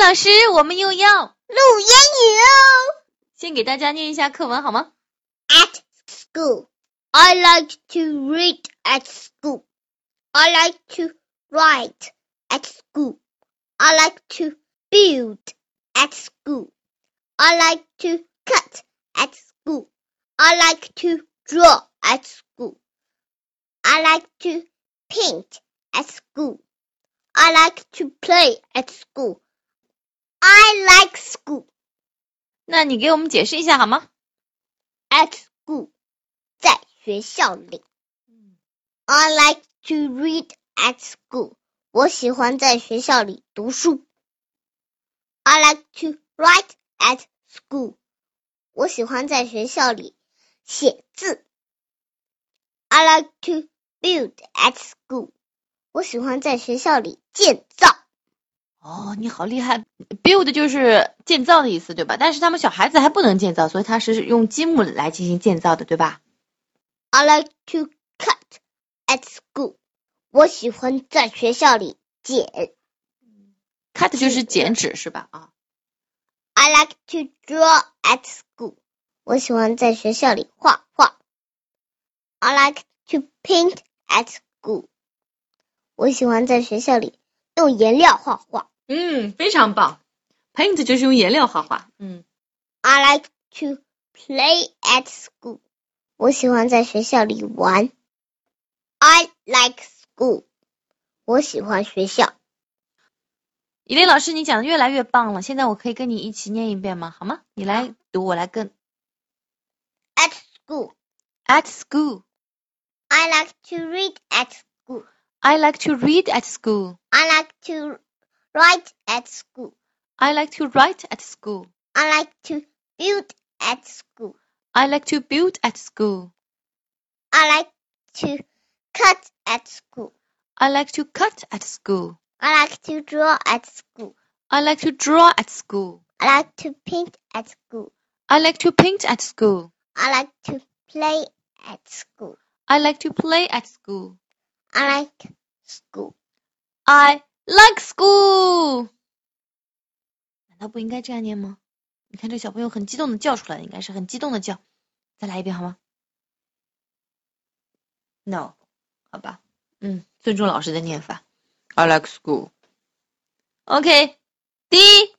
老师，我们又要录英语哦。 先给大家念一下课文好吗？ At school, I like to read at school. I like to write at school. I like to build at school. I like to cut at school. I like to draw at school. I like to paint at school. I like to play at school. I like school. 那你给我们解释一下好吗？ At school, 在学校里。I like to read at school. 我喜欢在学校里读书。I like to write at school. 我喜欢在学校里写字。I like to build at school. 我喜欢在学校里建造。 哦，你好厉害 ！Build 就是建造的意思，对吧？但是他们小孩子还不能建造，所以他是用积木来进行建造的，对吧？ I like to cut at school. 我喜欢在学校里剪。 Cut 就是剪纸是吧？啊。 I like to draw at school. 我喜欢在学校里画画。I like to paint at school. 我喜欢在学校里用颜料画画。 非常棒。Paint 就是用颜料画画。 I like to play at school. 我喜欢在学校里玩。I like school. 我喜欢学校。 以琳老师，你讲的越来越棒了，现在我可以跟你一起念一遍吗？好吗？你来读，我来跟。 At school. At school. I like to read at school. I like to read at school. I like to write at school. I like to write at school. I like to build at school. I like to build at school. I like to cut at school. I like to cut at school. I like to draw at school. I like to draw at school. I like to paint at school. I like to paint at school. I like to play at school. I like to play at school. I like school. I like school. 难道不应该这样念吗？你看这小朋友很激动的叫出来，应该是很激动的叫。再来一遍好吗？ No， 好吧。尊重老师的念法。I like school. OK， 第一。